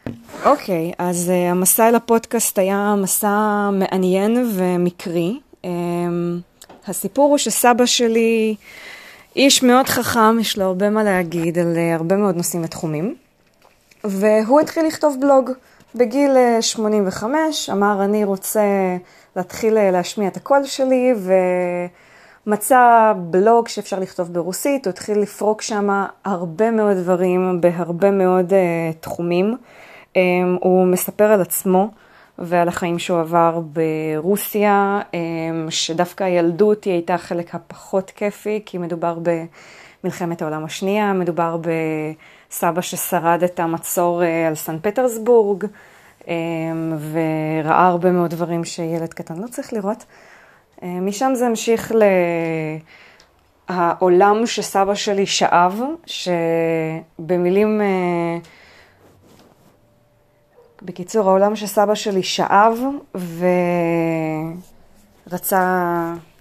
אוקיי, אז המסע אל הפודקאסט היה מסע מעניין ומקרי. הסיפור הוא שסבא שלי איש מאוד חכם, יש לו הרבה מה להגיד על הרבה מאוד נושאים ותחומים. והוא התחיל לכתוב בלוג בגיל 85, אמר אני רוצה להתחיל להשמיע את הקול שלי, ומצא בלוג שאפשר לכתוב ברוסית, הוא התחיל לפרוק שם הרבה מאוד דברים בהרבה מאוד תחומים. הוא מספר על עצמו ועל החיים שהוא עבר ברוסיה, שדווקא הילדות היא הייתה החלק הפחות כיפי, כי מדובר במלחמת העולם השנייה, מדובר בסבא ששרד את המצור על סן פטרסבורג, וראה הרבה מאוד דברים שילד קטן לא צריך לראות. משם זה המשיך לעולם שסבא שלי שאב, שבמילים... בקיצור, העולם שסבא שלי שאב ורצה